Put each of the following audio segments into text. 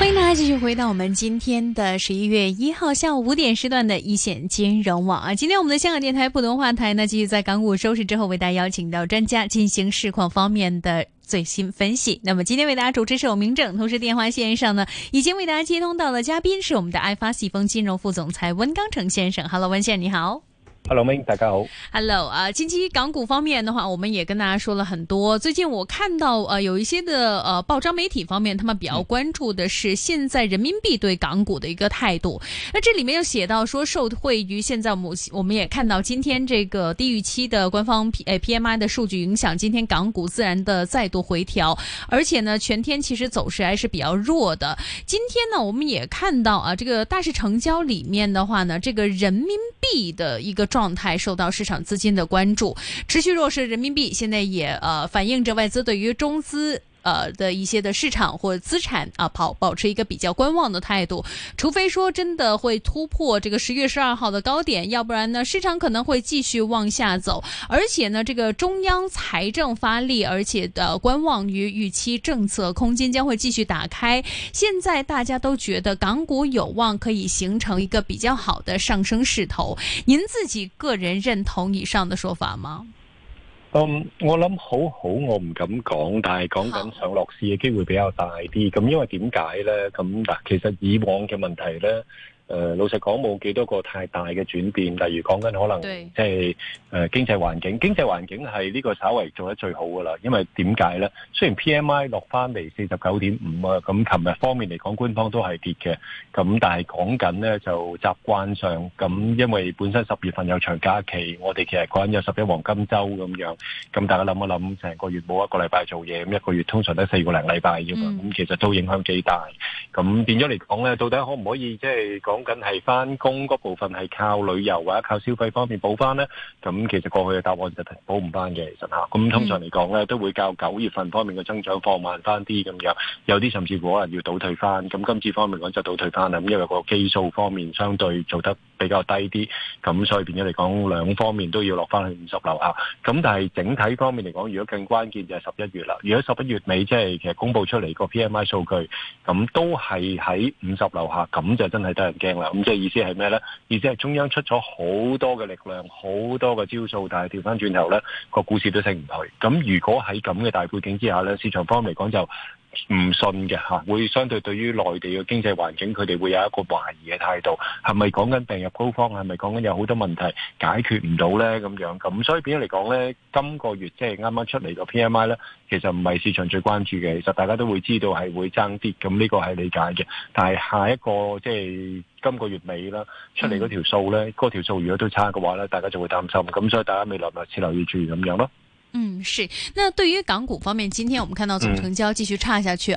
欢迎大家继续回到我们今天的11月1号下午5点时段的一线金融网啊。今天我们的香港电台普通话台呢，继续在港股收市之后为大家邀请到专家进行市况方面的最新分析。那么今天为大家主持是我明正，同时电话线上呢已经为大家接通到了嘉宾是我们的爱发细丰金融副总裁温刚成先生。 Hello 温先生你好。 Hello， 明大家好。 Hello 近期港股方面的话，我们也跟大家说了很多。最近我看到有一些的报章媒体方面，他们比较关注的是现在人民币对港股的一个态度。那这里面又写到说，受惠于现在我们也看到今天这个低预期的官方PMI 的数据影响，今天港股自然的再度回调，而且呢全天其实走势还是比较弱的。今天呢我们也看到这个大市成交里面的话呢，这个人民币的一个状态受到市场资金的关注，持续弱势人民币现在也反映着外资对于中资的一些的市场或者资产保持一个比较观望的态度，除非说真的会突破这个10月12号的高点，要不然呢市场可能会继续往下走。而且呢这个中央财政发力，而且观望于预期政策空间将会继续打开，现在大家都觉得港股有望可以形成一个比较好的上升势头。您自己个人認同以上的說法嗎？ 我諗好我唔敢講，但係講緊上落市嘅機會比較大啲。咁因為點解呢？咁嗱，其實以往嘅問題呢，老實講冇幾多個太大嘅轉變。例如講緊可能即係經濟環境係呢個稍為做得最好噶啦。因為點解呢？雖然 PMI 落翻嚟49.5啊，咁琴日方面嚟講官方都係跌嘅。咁但係講緊呢就習慣上咁，因為本身10月份有長假期，我哋其實講緊有11黃金週咁樣。咁大家諗一諗，成個月冇一個禮拜做嘢，咁一個月通常都4個零禮拜啫嘛。咁其實都影響幾大。咁變咗嚟講呢，到底可唔可以即係講緊係翻工嗰部分係靠旅遊或者靠消費方面補翻呢？咁其實過去嘅答案就補唔翻嘅，其實嚇。咁通常嚟講呢，都會較9月份方面嘅增長放慢翻啲咁樣，有啲甚至乎可能要倒退翻。咁今次方面講就倒退翻啦，咁因為個基數方面相對做得比較低啲，咁所以變咗嚟講兩方面都要落翻去50樓下。咁但係整體方面嚟講，如果更關鍵就係11月啦。如果11月尾即係其實公佈出嚟個 PMI 數據，咁都係喺50樓下，咁就真係得人驚啦。咁即係意思係咩呢？意思係中央出咗好多嘅力量，好多嘅招數，但係調翻轉頭呢個股市都升唔去。咁如果喺咁嘅大背景之下呢，市場方面嚟講就唔信嘅嚇，會相對對於內地嘅經濟環境，佢哋會有一個懷疑嘅態度，係咪講緊病入膏肓，係咪講緊有好多問題解決唔到呢？咁樣咁，所以變咗嚟講呢，今個月即係啱啱出嚟個 PMI 呢，其實唔係市場最關注嘅，其實大家都會知道係會爭啲，咁呢個係理解嘅。但係下一個即係今個月尾啦，出嚟嗰條數呢，嗰條數如果都差嘅話呢，大家就會擔心，咁所以大家未來密切留意住咁樣咯。 是。那對於港股方面，今天我們看到總成交繼續差下去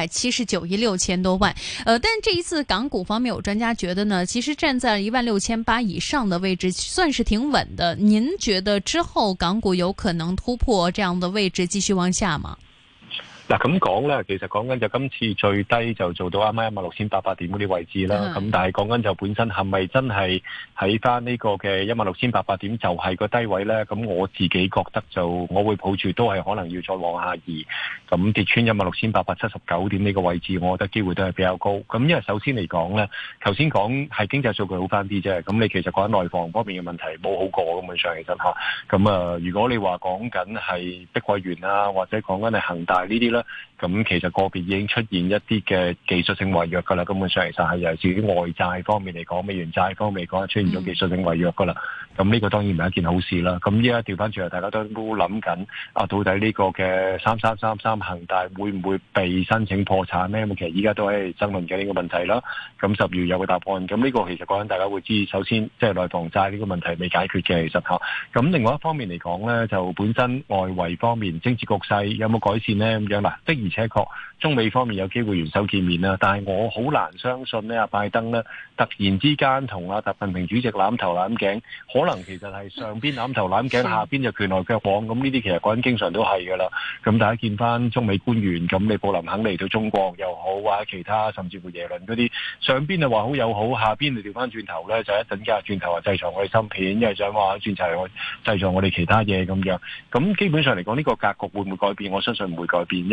679億6千多萬。但這一次港股方面，有專家覺得呢，其實站在16800以上的位置，算是挺穩的。您覺得之後港股有可能突破這樣的位置，繼續往下嗎？ 嗱咁講咧，其實講緊就今次最低就做到啱啱16800點嗰啲位置啦。咁但係講緊就本身係咪真係喺翻呢個嘅16800點就係個低位咧？咁我自己覺得就我會抱住都係可能要再往下移。咁跌穿16879點呢個位置，我覺得機會都係比較高。咁因為首先嚟講咧，頭先講係經濟數據好翻啲啫。咁你其實講緊內房方面嘅問題冇好過咁樣上其實嚇。咁如果你話講緊係碧桂園啊，或者講緊係恒大呢啲咧，咁其實個別已經出現一啲嘅技術性違約㗎啦，根本上其實係由至於外債方面嚟講，美元債方面嚟講出現咗技術性違約㗎啦。咁呢個當然唔係一件好事啦。咁依家調翻轉嚟，大家都諗緊到底呢個嘅3333恒大會唔會被申請破產呢？咁其實依家都係爭論緊呢個問題啦。咁10月有個答案。咁呢個其實講緊大家會知，首先即係內房債呢個問題未解決嘅，其實嚇。咁另外一方面嚟講呢，就本身外圍方面政治局勢有冇改善呢？咁樣嗱，的而且確中美方面有機會元首見面啦，但係我好難相信呢，拜登呢突然之間同習近平主席攬頭攬頸，可能其實係上邊攬頭攬頸，下邊就拳來腳往，咁呢啲其實講緊經常都係㗎啦。咁大家見翻中美官員，咁你布林肯嚟到中國又好，或者其他甚至乎耶倫嗰啲，上邊就話好友好，下邊就調翻轉頭咧，就一陣間轉頭話制裁我哋芯片，因為想話轉頭制裁我哋其他嘢咁樣。咁基本上嚟講，呢個格局會唔會改變？我相信唔會改變，因為其實講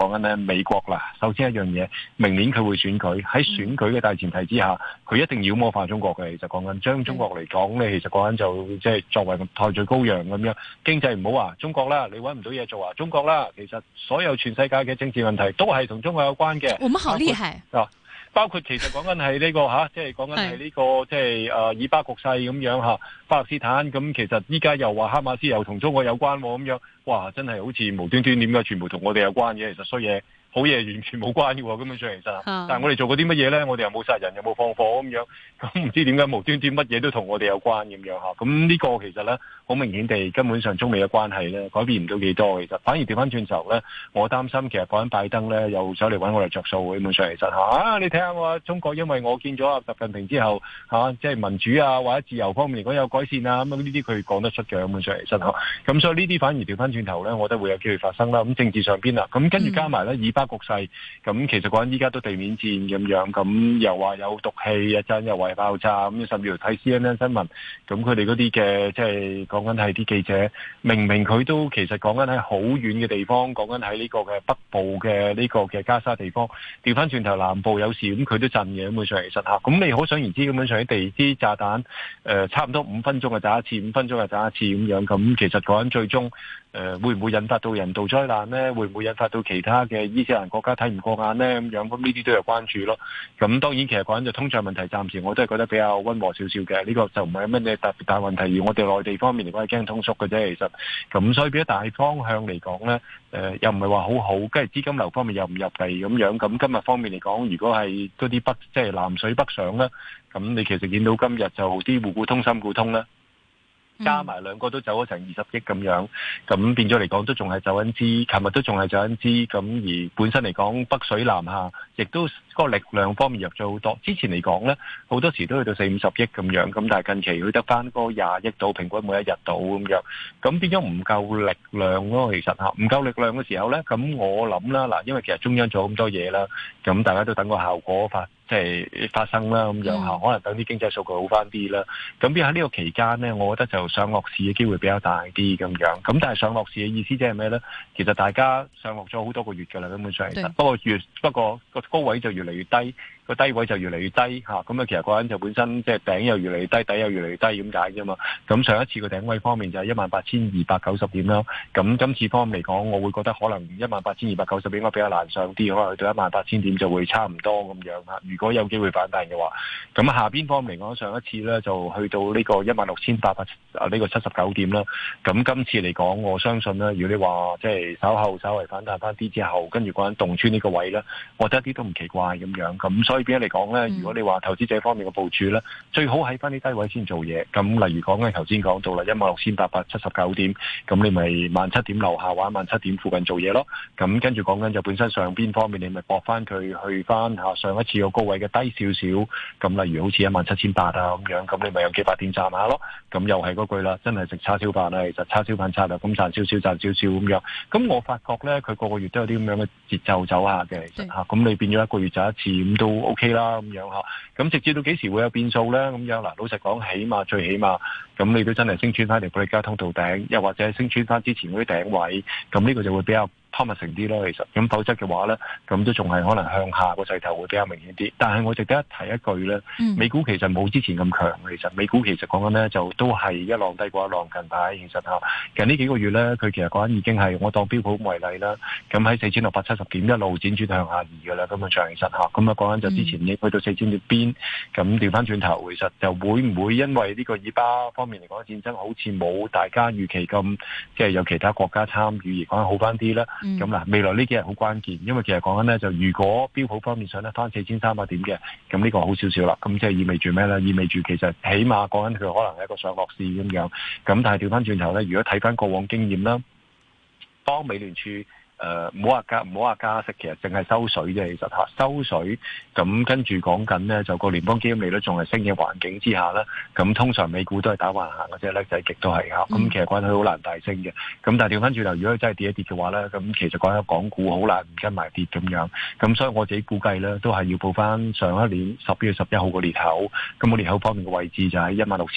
講緊咧美國啦。首先一樣嘢，明年佢會選舉，喺選舉嘅大前提之下，佢一定妖魔化中國嘅。其實講緊將中國嚟講咧，其實講緊就即係作為代罪羔羊咁樣。經濟唔好話中國啦，你搵唔到嘢做啊，中國啦。其實所有全世界嘅政治問題都係同中國有關嘅。 我們好厲害包括其實講緊係呢個即係講緊係呢個即係以巴局勢咁樣嚇，巴勒斯坦咁其實依家又話哈馬斯又同中國有關咁樣，哇！真係好似無端端點解全部同我哋有關嘅，其實衰嘢。好嘢完全冇關嘅喎，根本上其實，但係我哋做過啲乜嘢咧？我哋又冇殺人，又冇放火咁樣，咁唔知點解無端端乜嘢都同我哋有關咁樣嚇。咁呢個其實咧，好明顯地根本上中美嘅關係咧改變唔到幾多。其實反而調翻轉頭咧，我擔心其實講緊拜登咧又走嚟揾我哋着數。基本上其實你睇下我中國，因為我見咗習近平之後即係民主啊或者自由方面嚟講有改善啊，咁呢啲佢講得出嘅。根本上其實咁所以呢啲反而調翻轉頭咧，我覺得會有機會發生啦。咁政治上邊啦，咁跟住加埋咧以巴局勢，咁其實講緊依家都地面戰咁樣，咁又話有毒氣一陣，又話爆炸咁，甚至乎睇 CNN 新聞，咁佢哋嗰啲嘅即係講緊係啲記者，明明佢都其實講緊喺好遠嘅地方，講緊喺呢個嘅北部嘅呢個嘅加沙地方，調翻轉頭南部有事，咁佢都震嘅。咁本上其實咁你可想而知，咁本上啲地炸彈差唔多5分鐘就炸一次，5分鐘就炸一次咁樣，咁其實講緊最終會唔會引發到人道災難呢？會唔會引發到其他嘅伊斯蘭國家睇唔過眼呢？咁樣咁呢啲都有關注咯。咁當然其實講緊就通脹問題，暫時我都係覺得比較溫和少少嘅。呢個就唔係乜嘢特別大問題，而我哋內地方面嚟講係驚通縮嘅啫。其實咁所以變咗大方向嚟講呢，又唔係話好好，跟住資金流方面又唔入地咁樣。咁今日方面嚟講，如果係嗰啲即係南水北上呢，咁你其實見到今日就啲滬股通、深股通呢，加埋兩個都走咗成20億咁樣，咁變咗嚟講都仲係走緊資，琴日都仲係走緊資，咁而本身嚟講北水南下，亦都個力量方面入咗好多。之前嚟講呢，好多時都去到40-50億咁樣，咁但係近期佢得翻嗰20億到，平均每一日到咁樣，咁變咗唔夠力量咯。其實唔夠力量嘅時候呢，咁我諗啦，嗱，因為其實中央做咁多嘢啦，咁大家都等個效果即係發生啦，咁樣可能等啲經濟數據好翻啲啦。咁變喺呢個期間呢，我覺得就上落市嘅機會比較大啲咁樣。咁但係上落市嘅意思即係咩呢？其實大家上落咗好多個月㗎啦，根本上其實不過個高位就越嚟越低，個低位就越嚟越低嚇。咁其實嗰陣就本身即係頂又越嚟越低，底又越嚟越低咁解啫嘛。咁上一次個頂位方面就係18,290點啦。咁今次方面嚟講，我會覺得可能18,290點應該比較難上啲，可能去到18,000點就會差唔多咁樣嚇。如果有機會反彈嘅話，咁下邊方面嚟講，上一次咧就去到呢個16,800呢個79點啦。咁今次嚟講，我相信咧，如果你話即係稍微反彈翻啲之後，跟住嗰陣洞穿呢個位咧，我覺得一啲都唔奇怪咁樣。咁所以變咗嚟講咧，如果你話投資者方面嘅部署咧，最好喺翻啲低位先做嘢。咁例如講咧，頭先講到啦，16,879點，咁你咪17,000點樓下或者17,000點附近做嘢咯。咁跟住講緊就本身上邊方面，你咪搏翻佢去翻上一次個高位嘅低少少，咁例如好似17,800啊咁樣，咁你咪有幾百點賺下咯。咁又係嗰句啦，真係食叉燒飯啦，其實叉燒飯策略咁賺少少咁樣。咁我發覺咧，佢個個月都有啲咁樣嘅節奏走下嘅，其實咁你變咗一個月就一次，咁都 OK 啦咁樣嚇。咁直至到幾時會有變數咧？咁樣嗱，老實講，最起碼，咁你都真係升穿翻條保利加通道頂，又或者升穿翻之前嗰啲頂位，咁呢個就會比較promising啲咯，其實咁否則嘅話咧，咁都仲係可能向下個勢頭會比較明顯啲。但係我值得一提一句咧，美股其實冇之前咁強，其實美股其實講緊咧就都係一浪低過一浪，近排其實近呢幾個月咧，佢其實講緊已經係我當標普為例啦，咁喺4,670點一路輾轉向下移㗎啦，根本上其實咁啊講緊就之前已經去到4,000點邊，咁調翻轉頭，其實就會唔會因為呢個以巴方面嚟講戰爭好似冇大家預期咁，即係有其他國家參與而講好翻啲咧？咁嗱，未來呢幾日好關鍵，因為其實講緊咧，就如果標普方面上得翻4,300點嘅，咁呢個好少少啦。咁即係意味住咩咧？意味住其實起碼講緊佢可能係一個上落市咁樣。咁但係調翻轉頭咧，如果睇翻過往經驗啦，當美聯儲唔好話加息，其實淨係收水啫。其實收水，咁跟住講緊呢，就個聯邦基金利率仲係升嘅環境之下呢，咁通常美股都係打橫行嘅啫，叻仔極都係咁其實講緊佢好難大升嘅。咁但係調翻轉頭，如果佢真係跌一跌嘅話呢，咁其實講緊港股好難唔跟埋跌咁樣。咁所以我自己估計呢，都係要報翻上一年10月11號個裂口。咁個裂口方面嘅位置就喺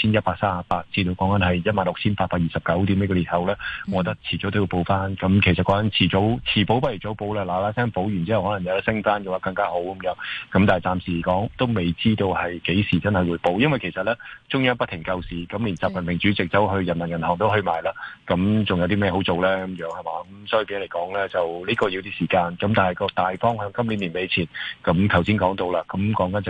16,138至到講緊係16,829點呢個裂口呢，我覺得遲早都要報翻。咁其實講緊遲早遲補不如早補啦，嗱嗱聲補完之後可能有得升翻嘅話更加好咁樣。咁但係暫時嚟講都未知道係幾時真係會補，因為其實咧中央不停救市，咁連習近平主席走去人民銀行都去埋啦，咁仲有啲咩好做咧咁樣係嘛？咁所以俾你嚟講咧，就呢個要啲時間。咁但係個大方向今年年尾前，咁頭先講到啦，咁講緊就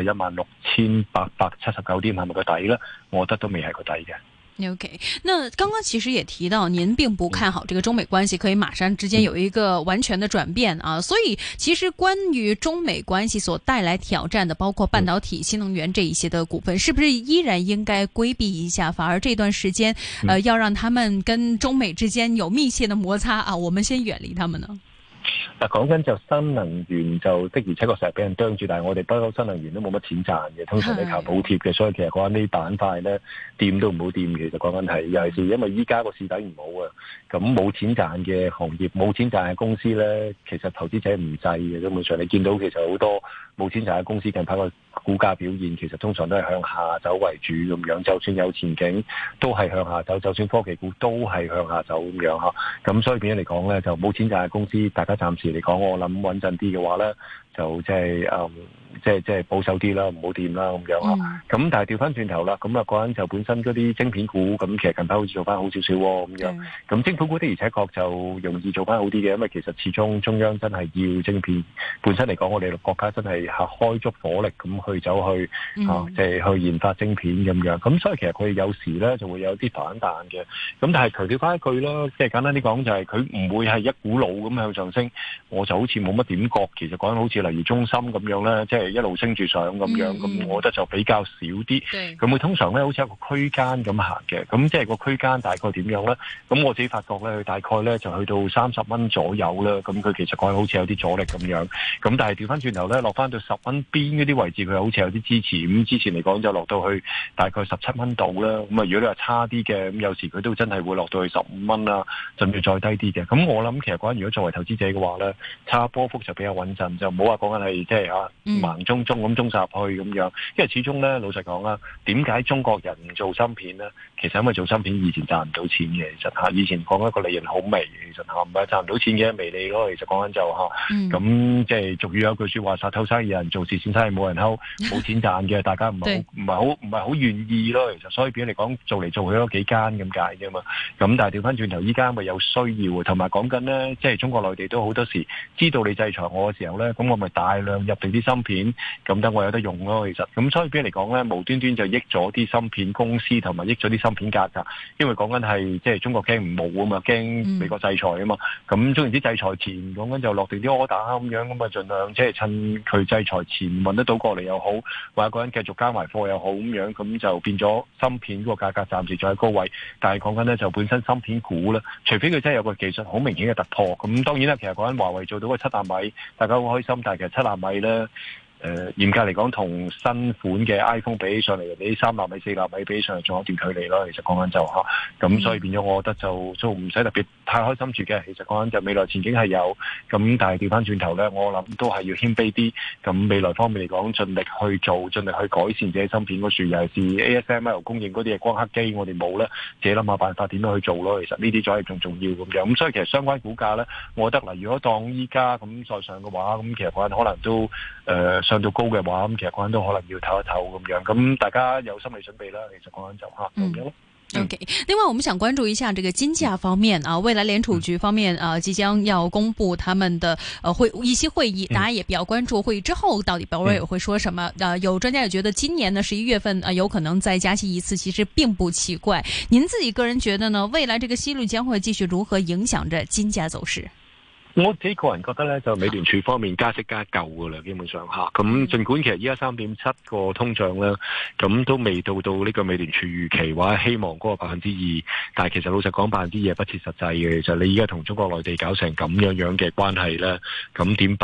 16,879點係咪個底咧？我覺得都未係個底嘅。 OK， 那剛剛其實也提到，您並不看好這個中美關係可以馬上之間有一個完全的轉變啊，所以其實關於中美關係所帶來挑戰的，包括半導體、新能源這一些的股份，是不是依然應該規避一下？反而這段時間，要讓他們跟中美之間有密切的摩擦啊，我們先遠離他們呢？ 嗱，講緊就新能源就的而且確成日俾人啄住，但係我哋不嬲新能源都冇乜錢賺嘅，通常你靠補貼嘅，所以其實講緊呢啲板塊咧，掂都唔好掂。其實講緊係尤其是因為依家個市底唔好啊，咁冇錢賺嘅行業、冇錢賺嘅公司咧，其實投資者唔制嘅。基本上你見到其實好多冇錢賺嘅公司近排個股價表現，其實通常都係向下走為主咁樣，就算有前景都係向下走，就算科技股都係向下走咁樣嚇。咁所以變咗嚟講咧，就冇錢賺嘅公司，大家暫時嚟講，我諗穩陣啲嘅話咧，就即係保守啲啦，唔好掂啦咁樣嚇。咁但係調翻轉頭啦，咁啊嗰陣就本身嗰啲晶片股，咁其實近排好似做翻好少少喎咁樣。咁晶片股的而且確就容易做翻好啲嘅，因為其實始終中央真係要晶片。本身嚟講，我哋國家真係開足火力咁去走去即係去研發晶片咁樣。咁所以其實佢有時咧就會有啲反彈嘅。咁但係強調翻一句啦，即係簡單啲講就係佢唔會係一股腦咁向上升。我就好似冇乜點覺，其實講緊好似例如中芯咁樣咧，即係一路升住上咁樣。咁我覺得就比較少啲。咁佢通常咧好似一個區間咁行嘅。咁即係個區間大概點樣咧？咁我自己發覺咧，佢大概咧就去到30蚊左右啦。咁佢其實講緊好似有啲阻力咁樣。咁但係調翻轉頭咧，落翻到10蚊邊嗰啲位置，佢好似有啲支持。咁之前嚟講就落到去大概17蚊度啦。咁啊，如果你話差啲嘅，咁有時佢都真係會落到去15蚊啦，甚至再低啲嘅。咁我諗其實講緊如果作為投資者嘅話咧，差波幅就比較穩陣，就唔好話講緊係即係盲中咁中殺去咁樣。因為始終咧，老實講啦，點解中國人唔做芯片咧？其實因為做芯片以前賺唔到錢嘅，其實以前講一個利潤好微，其實唔係賺唔到錢嘅微利咯。其實講緊就咁即係俗語有句說話，殺頭生意人，做慈善生意冇人偷，冇錢賺嘅，大家唔係好願意咯。其實所以變咗嚟講，做嚟做去都幾間咁解啫嘛。咁但係調翻轉頭，依家咪有需要，同埋講緊咧，即係中國內地都好多時知道你制裁我嘅時候咧，咁我咪大量入定啲芯片，咁等我有得用咯。其實咁所以變咗嚟講咧，無端端就益咗啲芯片公司，同埋益咗啲芯片價格，因為講緊係即係中國驚唔冇啊嘛，驚美國制裁啊嘛。咁總言之，制裁前講緊就落定啲 order 咁樣，咁啊盡量即係趁佢制裁前運得到過嚟又好，或者個人繼續加埋貨又好咁樣，咁就變咗芯片嗰個價格暫時仲喺高位。但係講緊咧就本身芯片股咧，除非佢真係有個技術好明顯嘅突破，咁當然啦，其實講緊華為做到個7納米，大家好開心，但係其實7納米咧。嚴格嚟講，同新款嘅 iPhone 比起上嚟，比3納米、4納米比起上嚟，仲有一段距離咯。其實講緊就咁所以變咗，我覺得就唔使特別太開心住嘅。其實講緊就未來前景係有，咁但係調翻轉頭咧，我諗都係要謙卑啲。咁未來方面嚟講，盡力去做，盡力去改善自己芯片嗰樹，尤其是 ASML 供應嗰啲嘅光刻機，我哋冇咧，自己諗下辦法點樣去做咯。其實呢啲再係仲重要咁樣。咁所以其實相關股價咧，我覺得嗱，如果當依家咁再上嘅話，咁其實講緊可能都上到高嘅話，咁其實講緊都可能要唞一唞咁樣，咁大家有心理準備啦。其實講緊就咁樣咯。 OK， 另外我們想關注一下這個金價方面啊，未來聯儲局方面即將要公布他們的議息會議，大家也比較關注會議之後到底鮑威爾會說什麼。有專家也覺得今年呢11月份有可能再加息一次，其實並不奇怪。您自己個人覺得呢？未來這個息率將會繼續如何影響着金價走勢？ 我自己個人覺得咧，就美聯儲方面加息加夠噶啦，基本上咁儘管其實依家3.7個通脹咧，咁都未到呢個美聯儲預期或者希望嗰個2%，但係其實老實講2%不切實際嘅。其實你依家同中國內地搞成咁樣嘅關係咧，咁點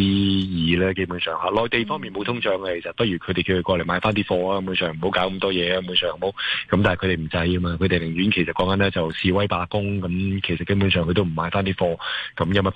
2%咧？基本上內地方面冇通脹嘅，其實不如佢哋叫佢過嚟買翻啲貨啊，基本上唔好搞咁多嘢啊，基本上好。咁但係佢哋唔制啊嘛，佢哋寧願其實講緊咧就示威罷工，咁其實基本上佢都唔買翻啲貨，咁有乜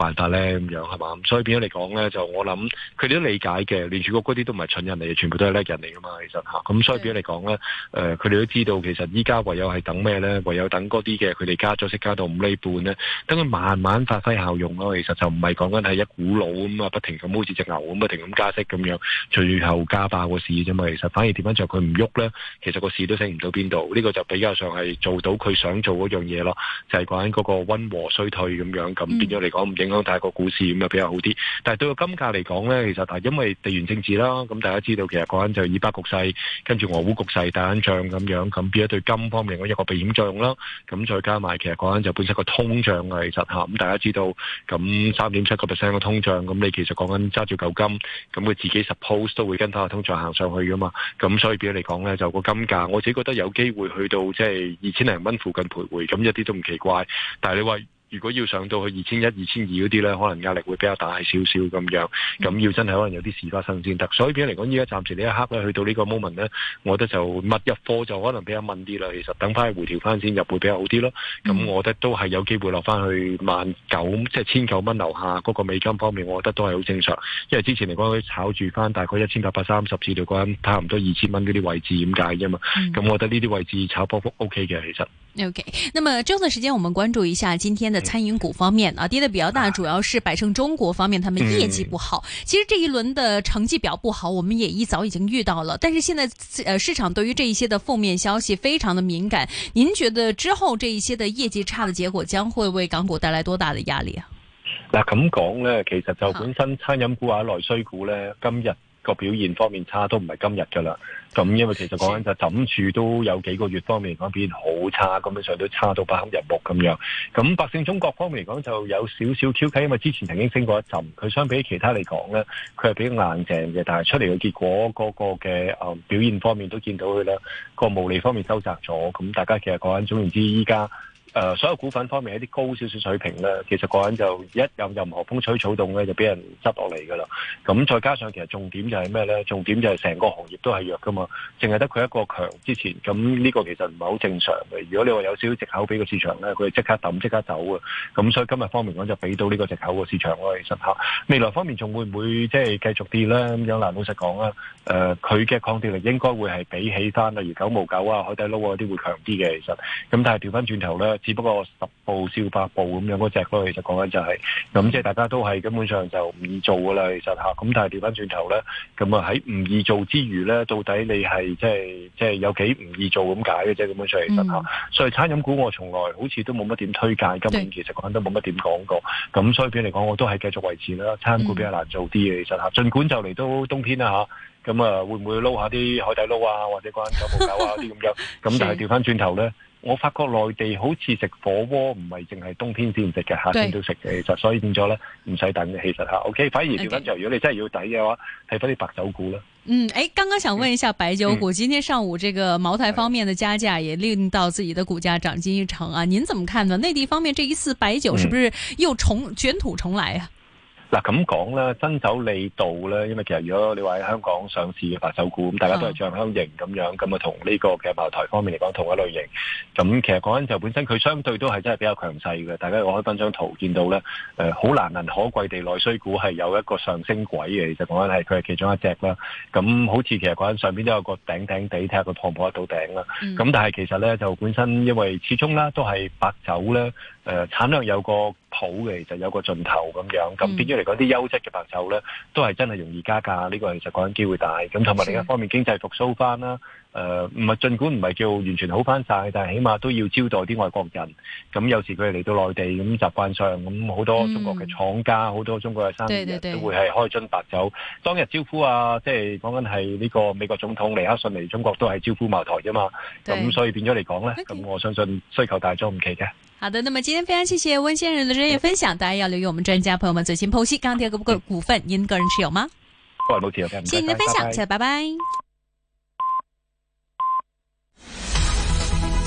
辦法咧？咁樣係嘛？所以變咗嚟講咧，就我諗佢哋都理解嘅，聯儲局嗰啲都唔係蠢人嚟嘅，全部都係叻人嚟噶嘛，其實嚇。咁所以變咗嚟講咧，佢哋都知道其實依家唯有係等咩咧？唯有等嗰啲嘅佢哋加咗息加到5厘半咧，等佢慢慢發揮效用咯。其實就唔係講緊係一股腦咁啊，不停咁好似隻牛咁不停咁加息咁樣，最後加爆個市啫嘛。其實反而點樣就佢唔喐咧，其實個市都升唔到邊度。呢個就比較上係做到佢想做嗰樣嘢咯，就係講緊嗰個溫和衰退咁樣，咁變咗嚟講唔影響大個股市咁就比較好啲。但係對個金價嚟講咧，其實係因為地緣政治啦，咁大家知道其實講緊就以巴局勢，跟住俄烏局勢打緊仗咁樣，咁變咗對金方面嗰一個避險作用啦。咁再加埋其實講緊就本身個通脹啊，其實嚇咁大家知道，咁3.7%嘅通脹，咁你其實講緊揸住嚿金，咁佢自己 suppose 都會跟翻個通脹行上去噶嘛。咁所以變咗嚟講咧，就個金價我自己覺得有機會去到即係2000零蚊附近徘徊，咁一啲都唔奇怪。但係你話如果要上到去2100、2200嗰啲咧，可能壓力會比較大少少咁樣，咁要真係可能有啲事發生先得。所以變咗嚟講，依家暫時呢一刻咧，去到呢個 moment 咧，我覺得就密入貨就可能比較問啲啦。其實等翻去回調翻先入會比較好啲咯。咁我覺得都係有機會落翻去19,000即係1900蚊樓下嗰個美金方面，我覺得都係好正常。因為之前嚟講佢炒住翻大概1830至到嗰陣差唔多2000蚊嗰啲位置點解啫嘛。咁我覺得呢啲位置炒波幅 OK 嘅，其實。 OK， 那麼這段時間我們關注一下今天的餐飲股方面啊，跌得比較大，主要是百勝中國方面，他們業績不好。其實這一輪的成績表不好，我們也一早已經遇到了，但是現在市場對於這一些的負面消息非常的敏感。您覺得之後這一些的業績差的結果將會為港股帶來多大的壓力啊？ 嗱咁講呢，其實就本身餐飲股或者內需股呢，今日個表現方面差都唔係今日噶啦。咁因為其實講緊就枕住都有幾個月方面嚟講表現好差，根本上都差到不堪入目咁樣。咁百勝中國方面嚟講就有少少挑剔，因為之前曾經升過一陣，佢相比其他嚟講咧，佢係比較硬淨嘅，但係出嚟嘅結果嗰個嘅表現方面都見到佢啦，個毛利方面收窄咗。咁大家其實講緊總言之，依家所有股份方面一啲高少少水平咧，其實講緊就一有任何風吹草動咧，就俾人執落嚟噶啦。咁再加上其實重點就係咩咧？重點就係成個行業都係弱噶嘛，淨係得佢一個強之前，咁呢個其實唔係好正常嘅。如果你話有少少藉口俾個市場咧，佢即刻抌即刻走啊。咁所以今日方面講就俾到呢個藉口個市場咯。其實嚇未來方面仲會唔會即係繼續跌咧？咁樣嗱，老實講啦，佢嘅抗跌力應該會係比起翻例如9毛9啊、海底撈嗰啲會強啲嘅。其實咁，但係調翻轉頭咧。只不過10步笑百步咁樣嗰隻咯，其實講緊就係咁，即係大家都係根本上就唔易做噶啦，其實嚇。咁但係調翻轉頭咧，咁啊喺唔易做之餘咧，到底你係即係有幾唔易做咁解嘅啫，根本上其實嚇。所以餐飲股我從來好似都冇乜點推介，今年其實講緊都冇乜點講過。咁所以變嚟講，我都係繼續維持啦。餐飲股比較難做啲嘅，其實嚇。儘管就嚟到冬天啦嚇，咁啊會唔會撈下啲海底撈啊，或者關9毛9啊啲咁樣？咁但係調翻轉頭咧。我發覺內地好似食火鍋唔係淨係冬天先食嘅，夏天都食嘅，其實所以變咗咧唔使等嘅，其實嚇。OK， 反而調翻就如果你真係要抵嘅話，睇翻啲白酒股啦。 剛剛想問一下白酒股，今天上午這個茅台方面的加價也令到自己的股價漲近1成啊，您怎麼看呢？內地方面這一次白酒是不是又捲土重來啊？ 嗱咁講啦，新酒利道咧，因為其實如果你話喺香港上市嘅白酒股，咁大家都係醬香型咁樣，咁啊同呢個嘅茅台方面嚟講同一類型。咁其實講緊就本身佢相對都係真係比較強勢嘅。大家我開翻張圖見到咧，好難能可貴地內需股係有一個上升軌嘅。其實講緊係佢係其中一隻啦。咁好似其實講緊上邊都有個頂地，睇下佢破唔破得到頂啦。咁但係其實咧就本身因為始終啦都係白酒咧，產量有個譜嘅，其實有個盡頭咁樣。咁變咗嚟講啲優質嘅白酒咧，都係真係容易加價。呢個其實講緊機會大。咁同埋另一方面經濟復甦翻啦。唔係儘管唔係叫完全好翻晒，但係起碼都要招待啲外國人。咁有時佢哋嚟到內地咁習慣上，咁好多中國嘅廠家，好多中國嘅生意人都會係開樽白酒。當日招呼啊，即係講緊係呢個美國總統尼克遜嚟中國都係招呼茅台啫嘛。咁所以變咗嚟講咧，咁我相信需求大咗唔奇嘅。 好的，那麼今天非常謝謝溫先生的專業分享，大家要留意我們專家朋友們最新剖析。鋼鐵股份，您個人持有嗎？ 個人冇持有嘅。 謝謝您的分享，謝謝，拜拜。